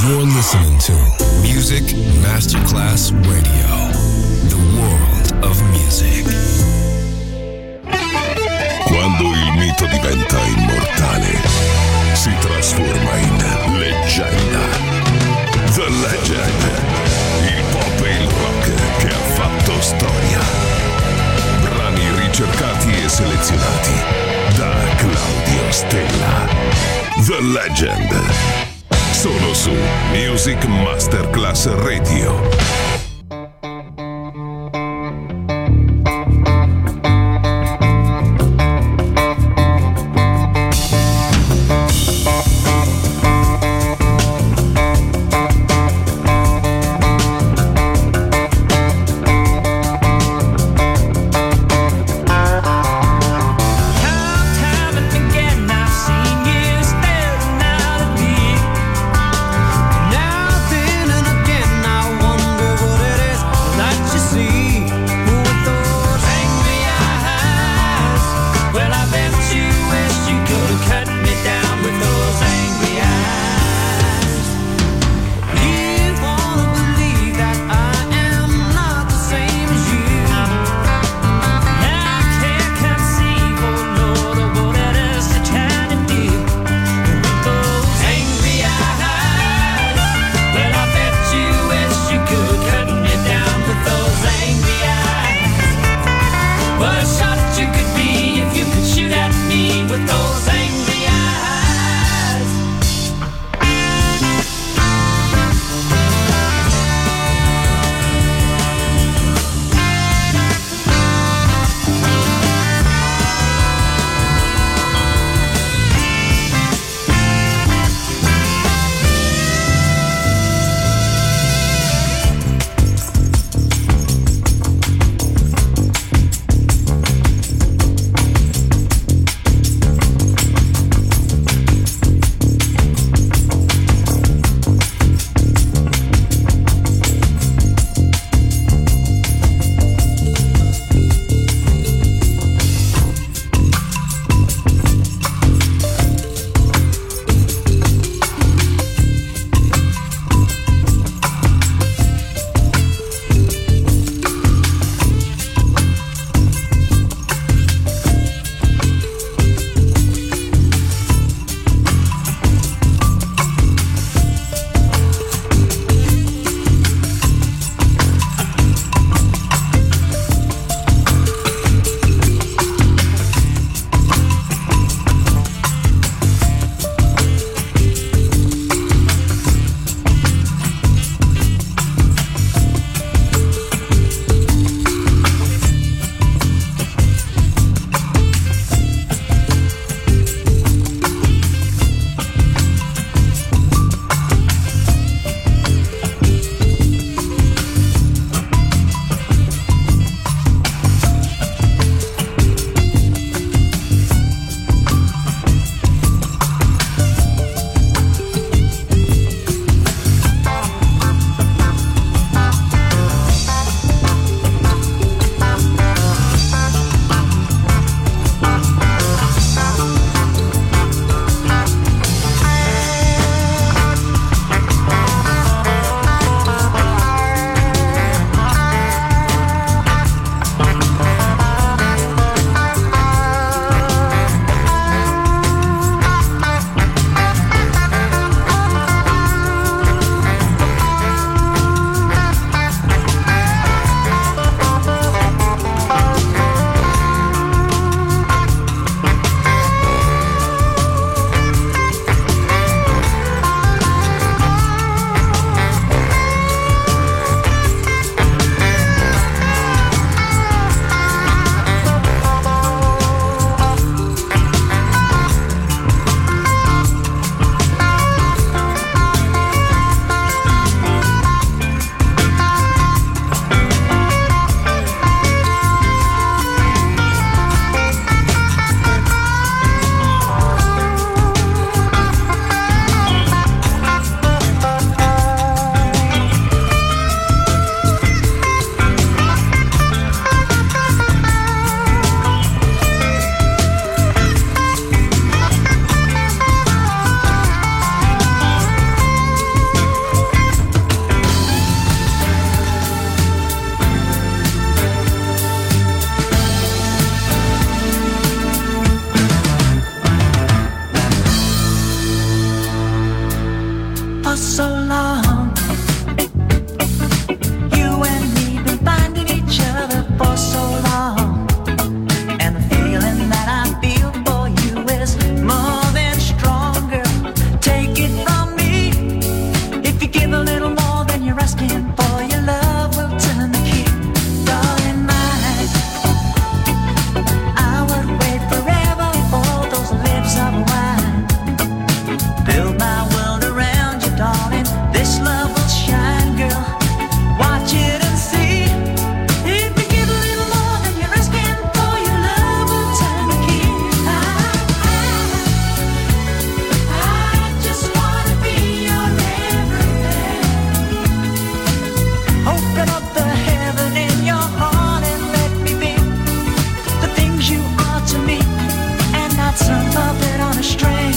You're listening to Music Masterclass Radio, the world of music. Quando il mito diventa immortale, si trasforma in leggenda. The Legend, il pop e il rock che ha fatto storia. Brani ricercati e selezionati da Claudio Stella. The Legend. Solo su Music Masterclass Radio. Now then and again I wonder what for so long. You and me been finding each other for so long. And the feeling that I feel for you is more than stronger. Take it from me. If you give a little more than you're asking for, your love will turn the key. Darling mine, I would wait forever for those lips of wine. Build my world around you, darling. This love will shine, girl. Watch it and see. If you give a little more than you're asking for, your love will turn the key. I just wanna be your everything. Open up the heaven in your heart and let me be the things you are to me, and not some puppet on a string.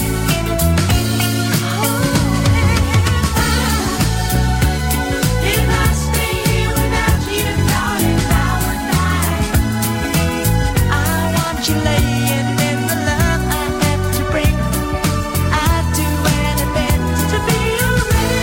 If I stay here without you, darling, I would die. I want you laying in the love I have to bring. I'd do anything to be your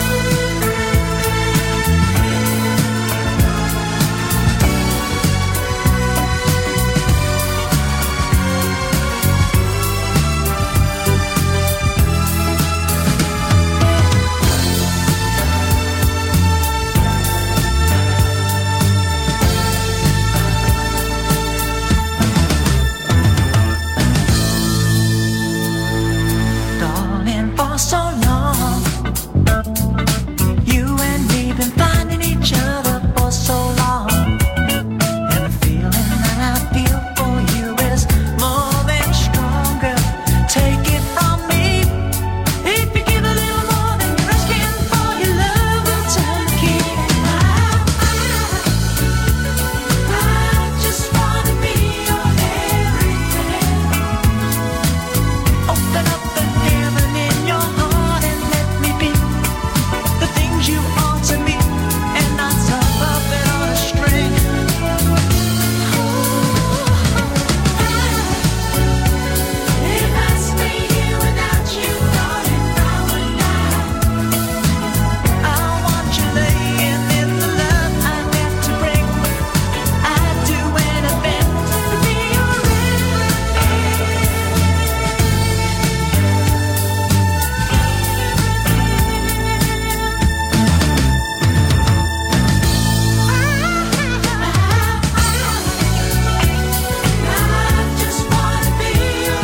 darling, for so long. You and me been finding each other for so long. And the feeling that I feel for you is more than stronger. Take it from me. If you give a little more than you're asking for, your love will turn the key. I just wanna be your everything. Open up the heaven in your heart and let me be the things you are to me, and not some puppet on a string. If I stay here without you, darling, I would die. I want you laying in the love I have to bring. I'd do anything to be your I just wanna be your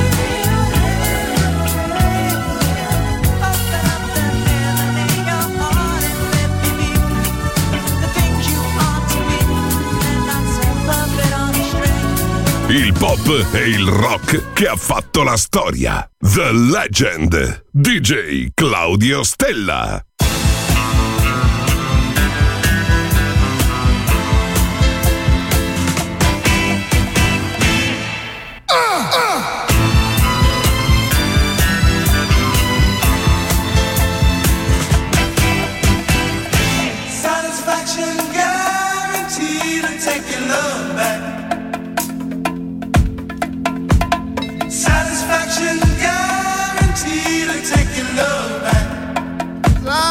Open up the heaven in your heart and let me be the things you are to me, and not some puppet on a string. Il pop e il rock che ha fatto la storia. The Legend. DJ Claudio Stella. Satisfaction guaranteed to take your love back. Satisfaction guaranteed to take your love back.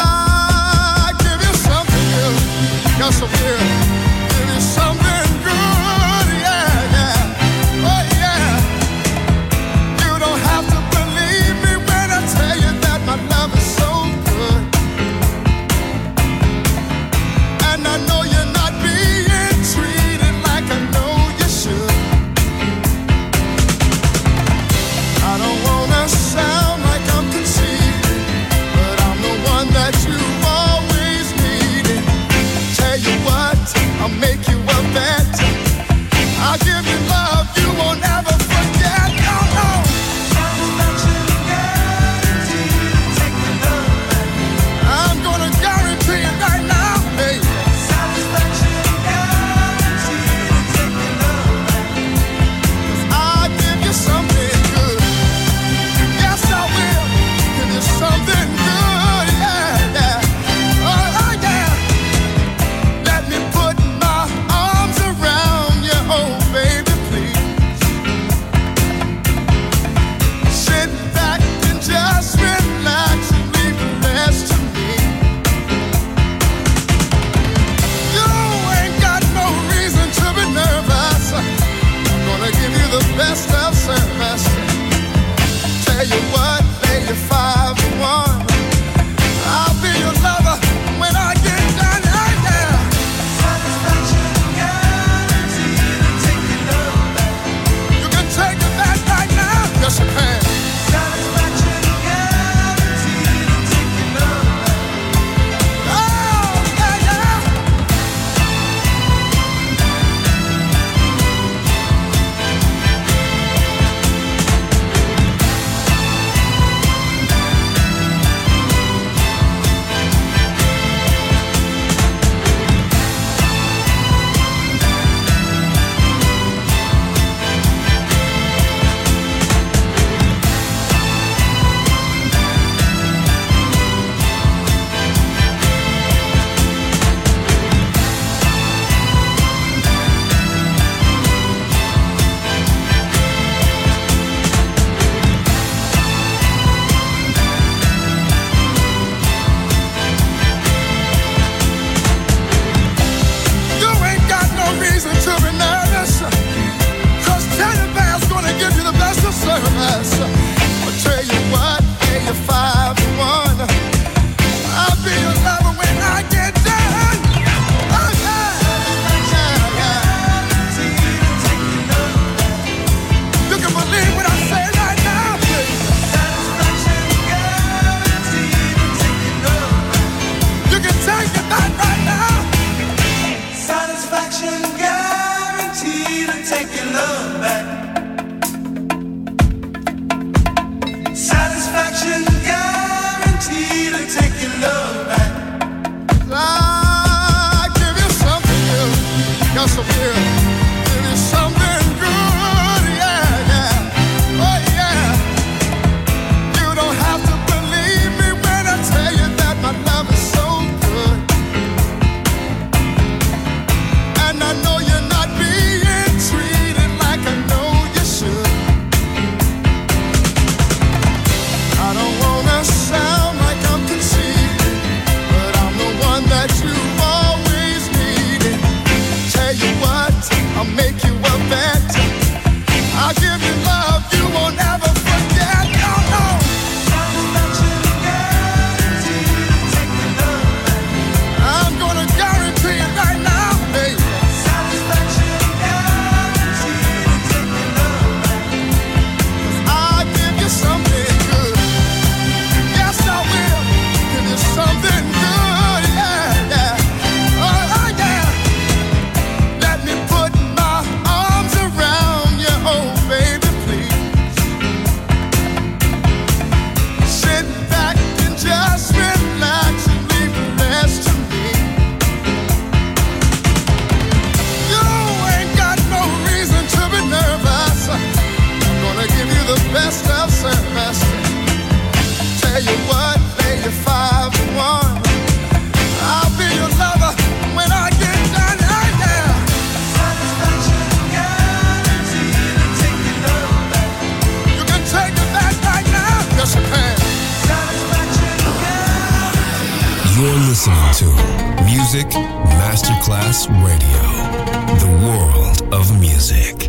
You're listening to Music Masterclass Radio, the world of music.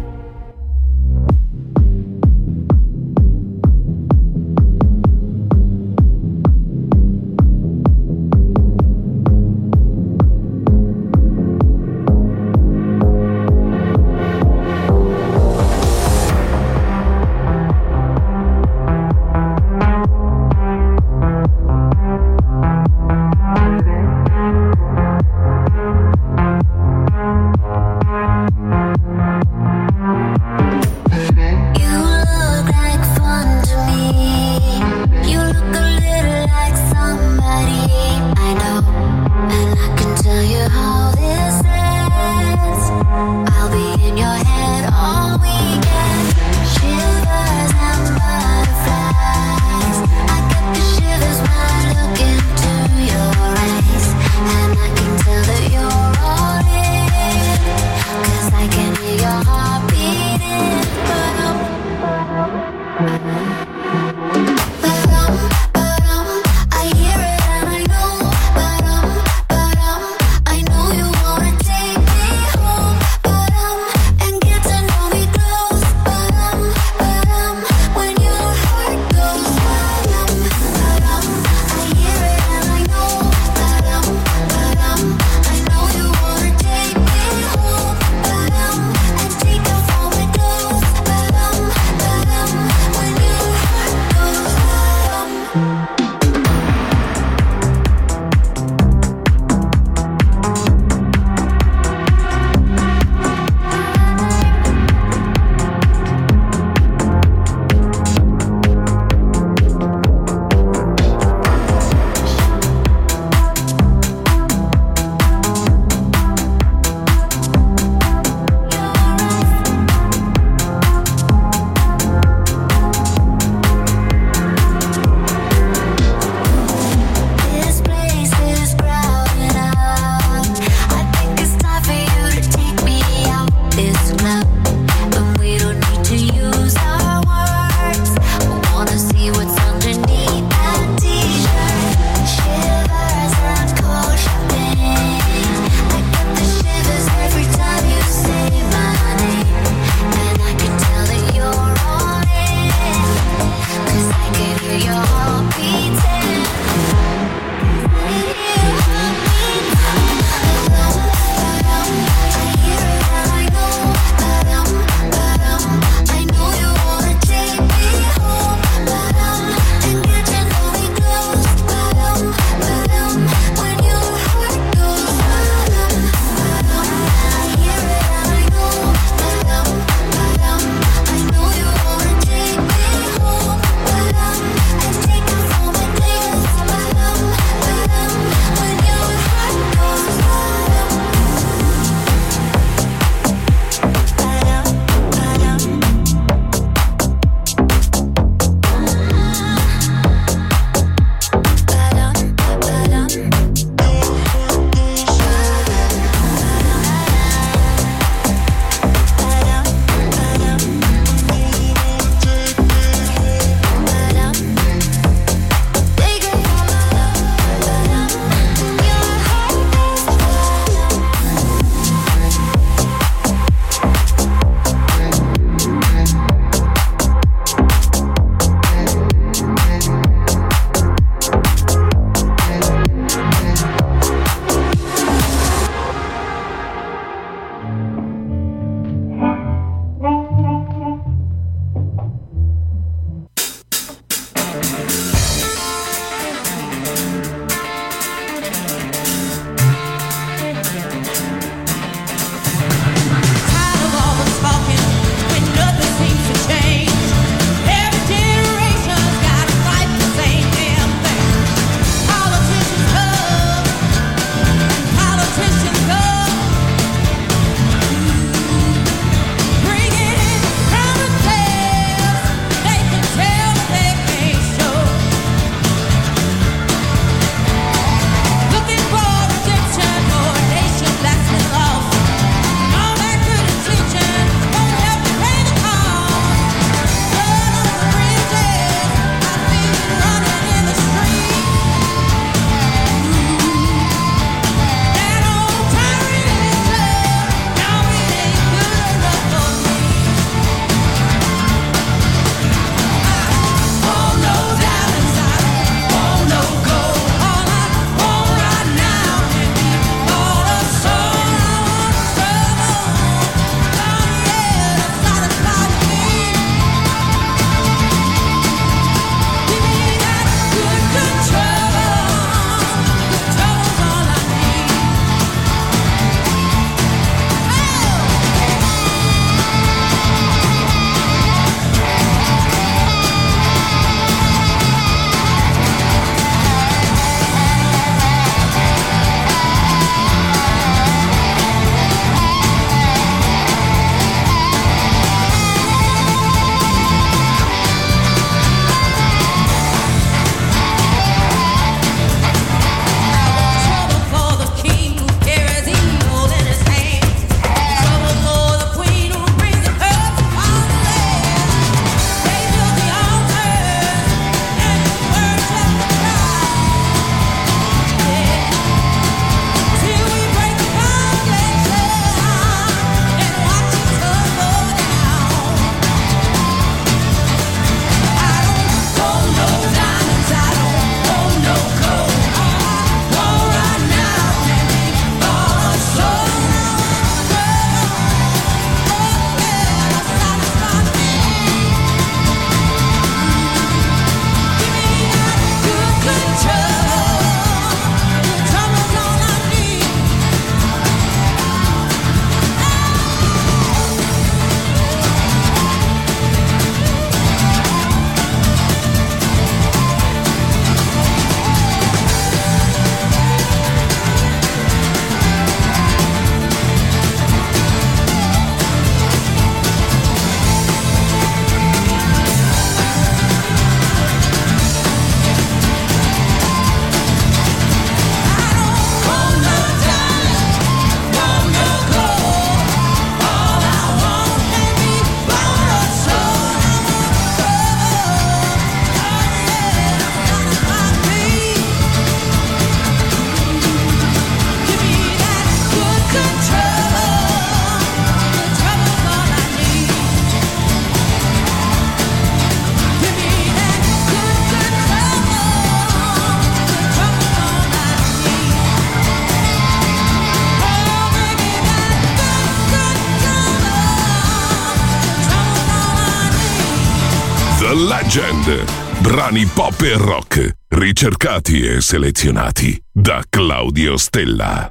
Legend. Brani pop e rock, ricercati e selezionati da Claudio Stella.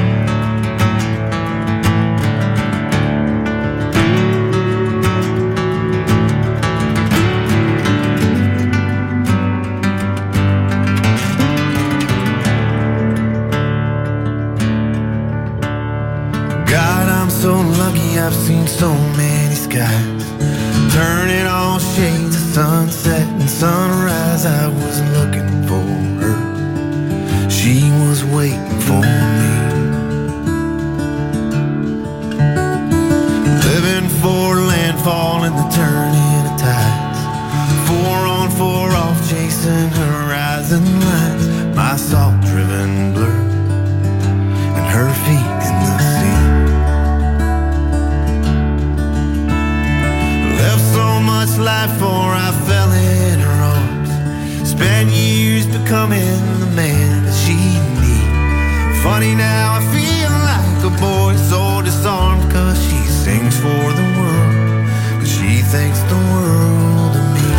God, I'm so lucky I've seen so many skies, turning all shades of sunset and sunrise. I was looking for her, she was waiting for me. Living for landfall and the turning of tides, 4 on 4 off chasing horizon lines. My salt-driven blur and her feet in the sea. Left so much life for I fell in her arms. Spent years becoming the man that she needed. Funny now I feel like a boy so disarmed, 'cause she sings for the world, but she thinks the world of me.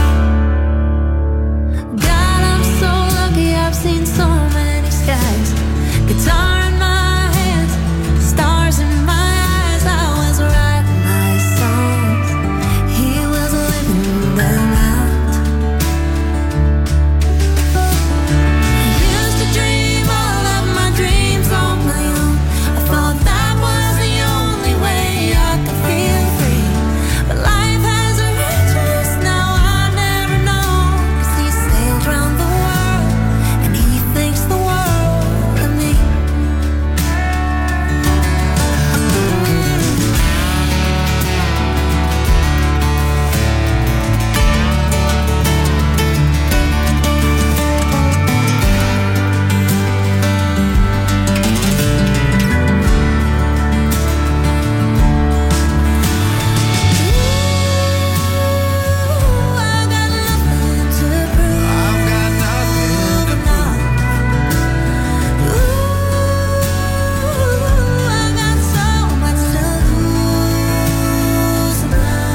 God, I'm so lucky I've seen so many skies. Guitar in my hands, stars in my eyes. I was writing my songs, he was living them out. I used to dream all of my dreams on my own. I thought that was the only way I could feel free. But life has a riches now I never know. 'Cause he sailed round the world and he thinks the world of me. I got nothing to prove. I've got nothing to prove. I got so much to lose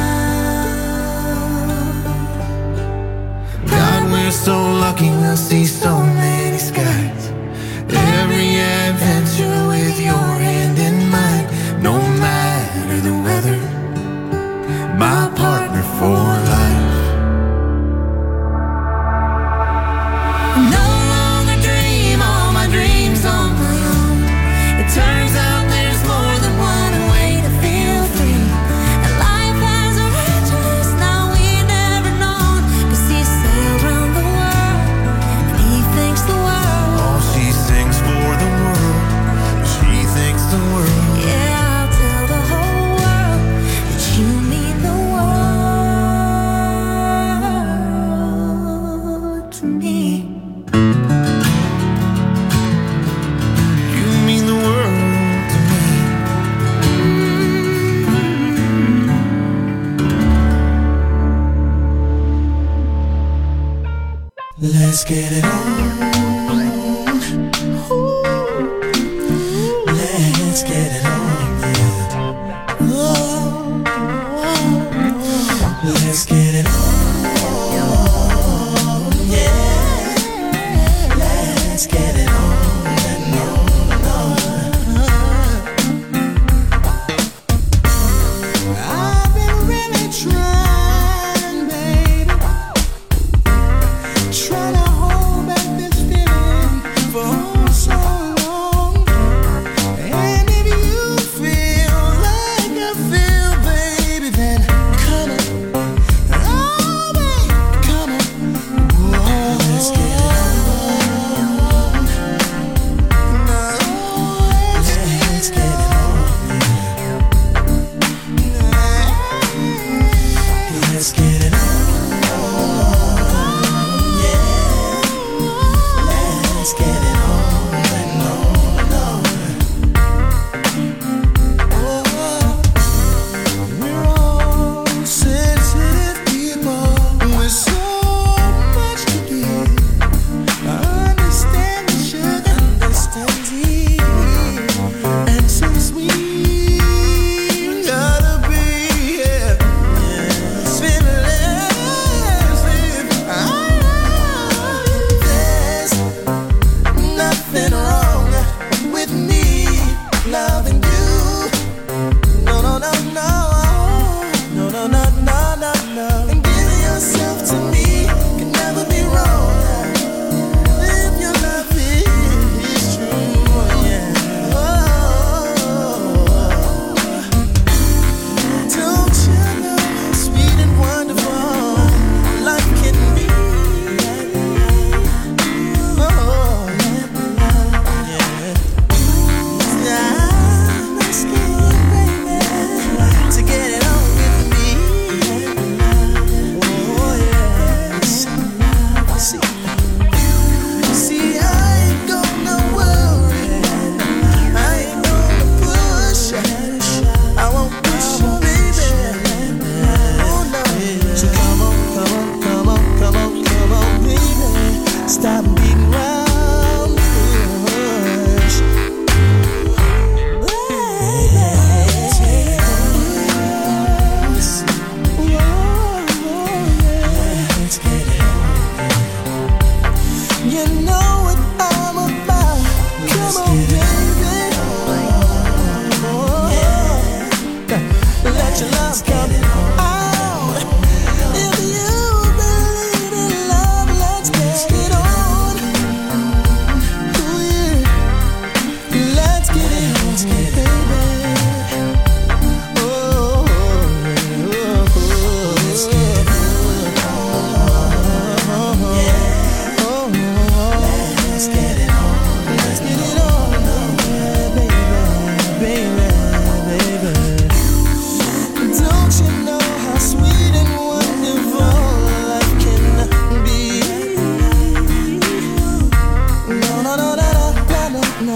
now. God, we're so lucky we'll see so many skies. Every adventure with your hand in mine. No matter the weather, my partner for life. No longer dream all my dreams on my own. It turns out there's more than one way to feel free. And life has a richness now we never known. 'Cause he sailed round the world and he thinks the world. Oh, she sings for the world, she thinks the world. Yeah, I'll tell the whole world that you mean the world to me. You mean the world to me. Let's get it on. Let's get it on, yeah. Oh, let's get it on, yeah. Let's get it on and on. I've been really trying, baby, trying to hold back this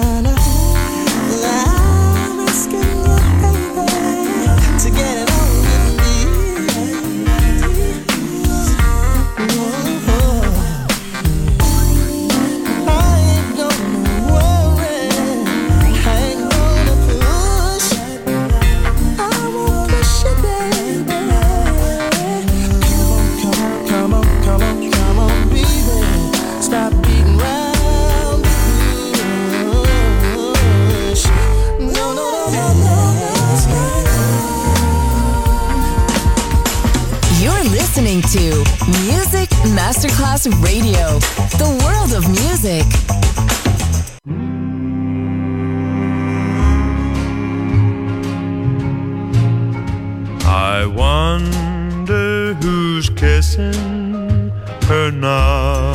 to Music Masterclass Radio, the world of music. I wonder who's kissing her now.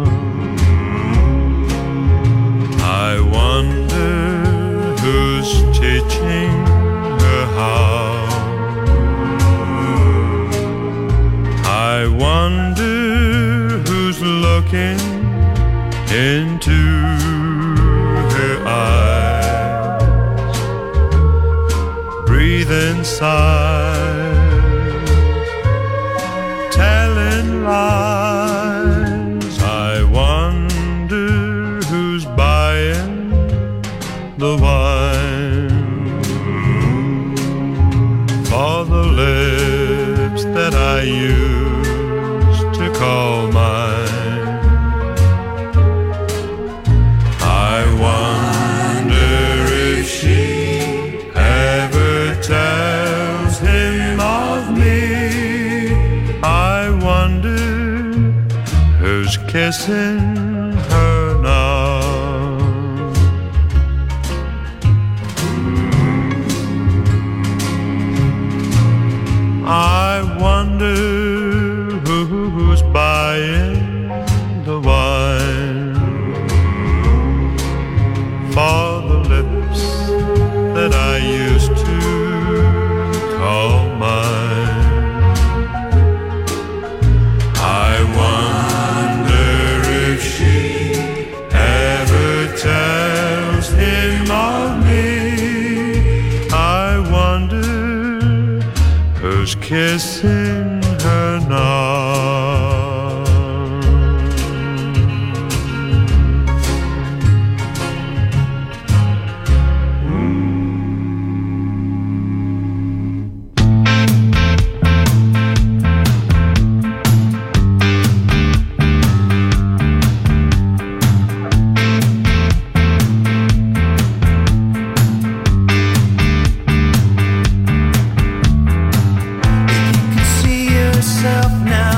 I wonder who's teaching her how. I wonder who's looking into her eyes, breathing sighs, telling lies. I wonder who's buying the wine for the lips that I used to call mine. I wonder if she ever tells him of me. I wonder who's kissing her now. I wonder who's buying the wine for the lips that I used to call mine. I wonder if she ever tells him of me. I wonder who's kissing her now. Now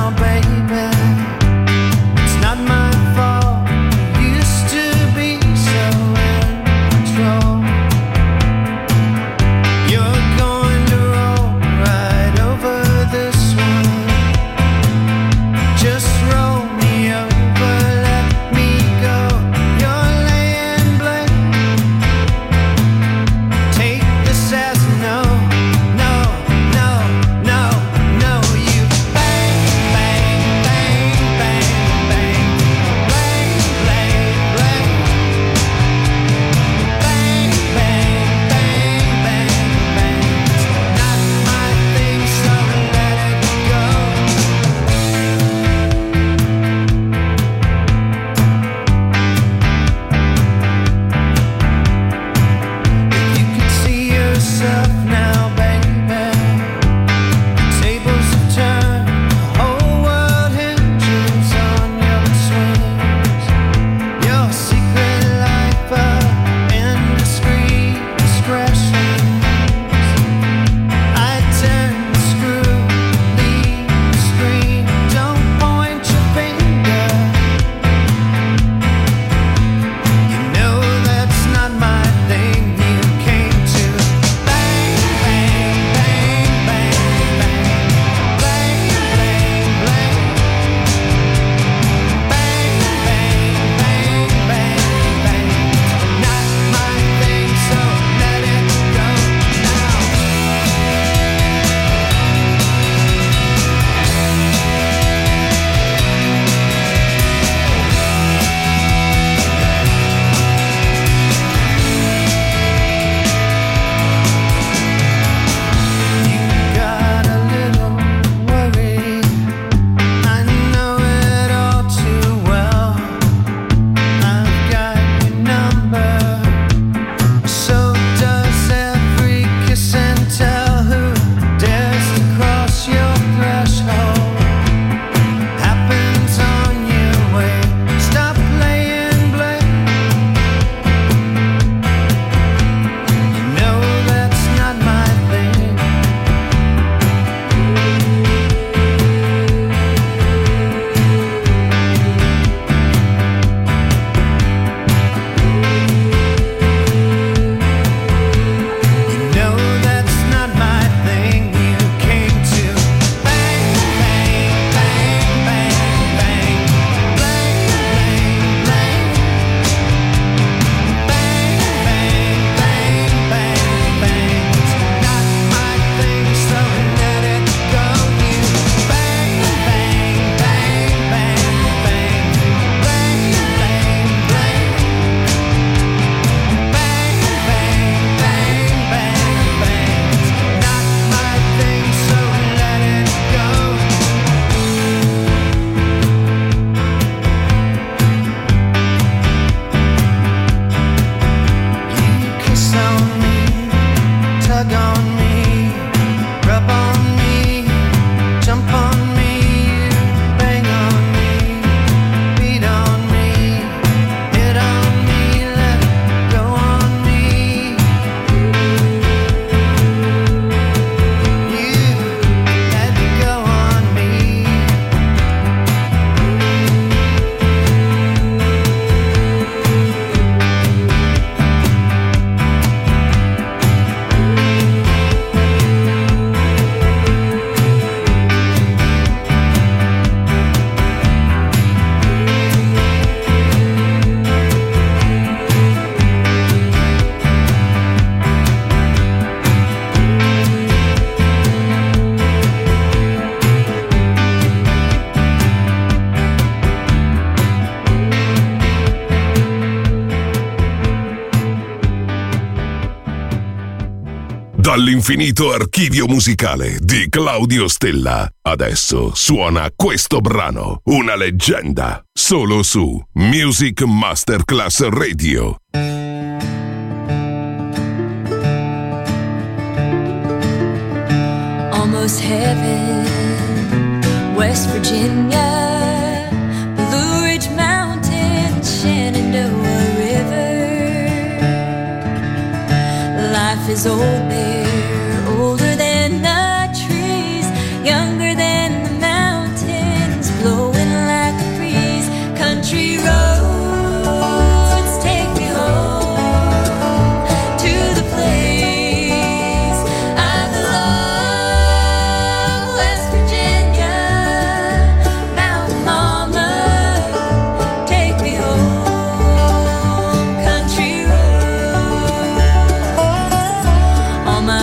Dall'infinito archivio musicale di Claudio Stella. Adesso suona questo brano, una leggenda, solo su Music Masterclass Radio. Almost heaven, West Virginia, Blue Ridge Mountains, Shenandoah River. Life is old there, older than the trees, younger than the mountains, blowing like a breeze. Country roads take me home to the place I belong. West Virginia, Mountain Mama, take me home. Country roads, all my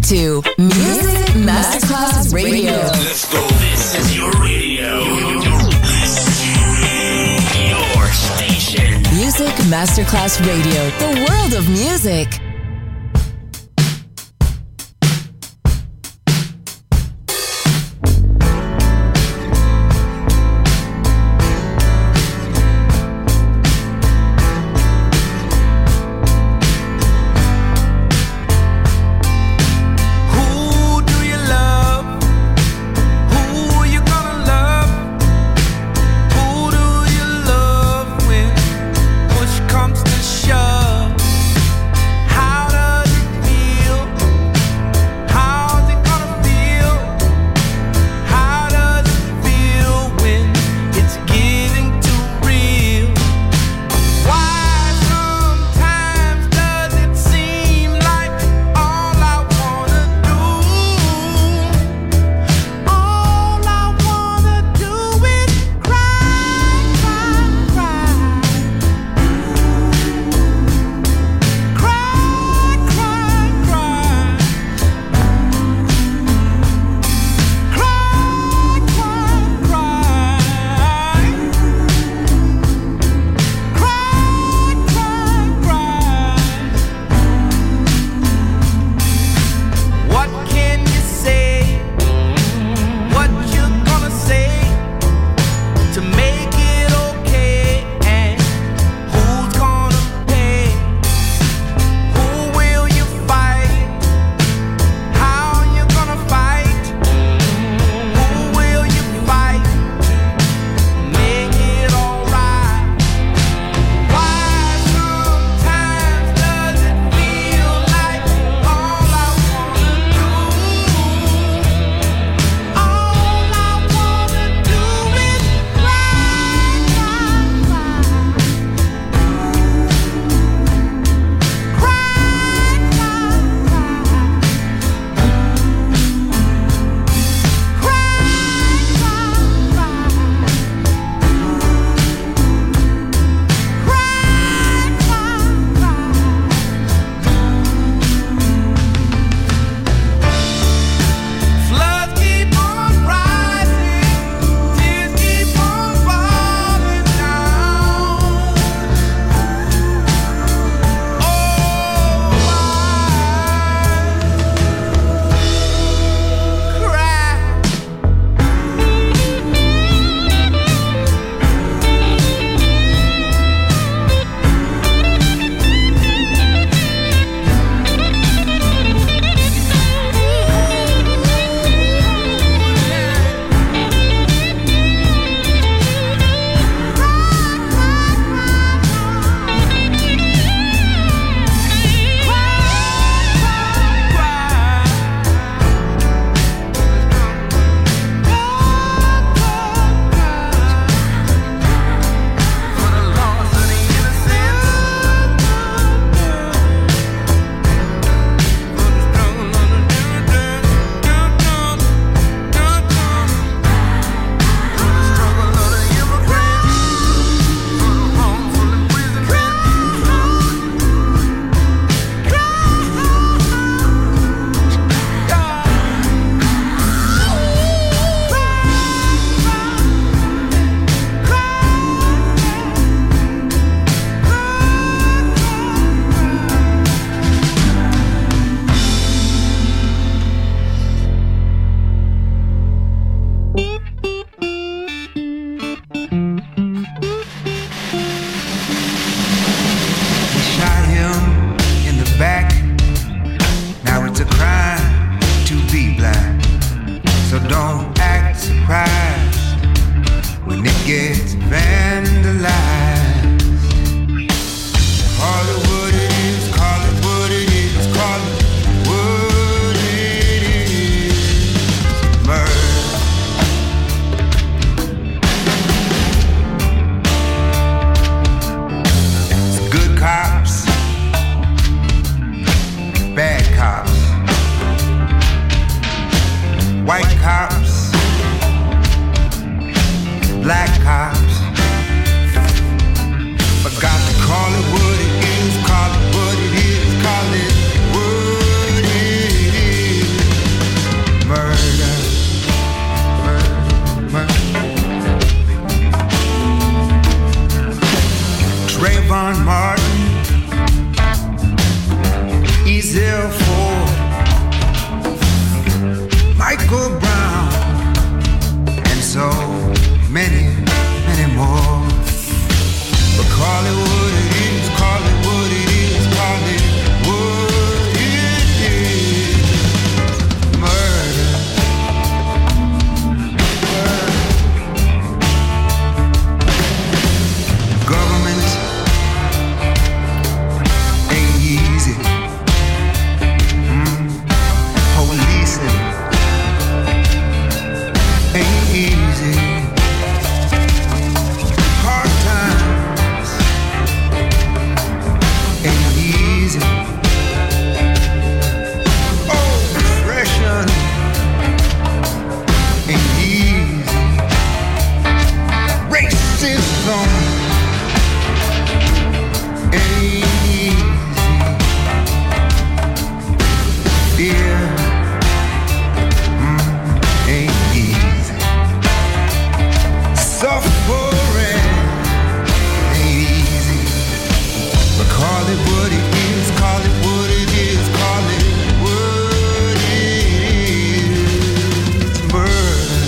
to Music Masterclass Radio. Let's go. This is your radio. Your station. Music Masterclass Radio. The world of music. Comes to shove, this song ain't easy, dear. Ain't easy. Suffering ain't easy. But call it what it is, call it what it is, call it what it is. Murder.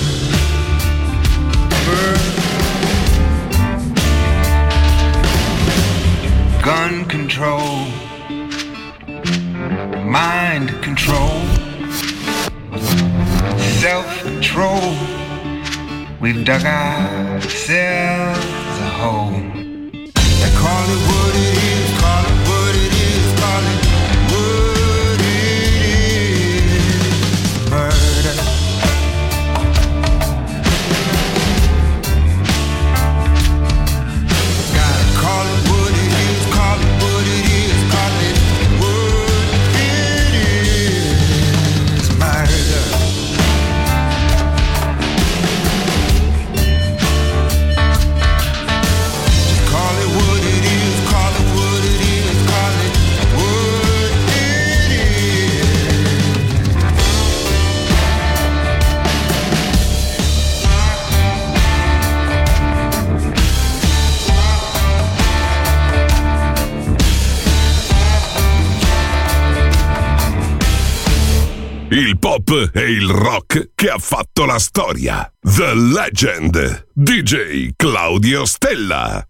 Gun control, mind control, self-control. We've dug ourselves a hole. Now call it what it is, call it what it is, call it what it is. Murder. Gotta call it what it is, call it what it is, call it what it is. Murder. Call it what it is, call it what it is, call it what it is. Il pop e il rock che ha fatto la storia. The Legend. DJ Claudio Stella.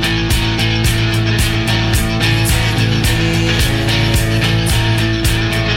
Take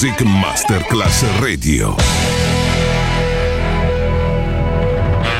Music Masterclass Radio.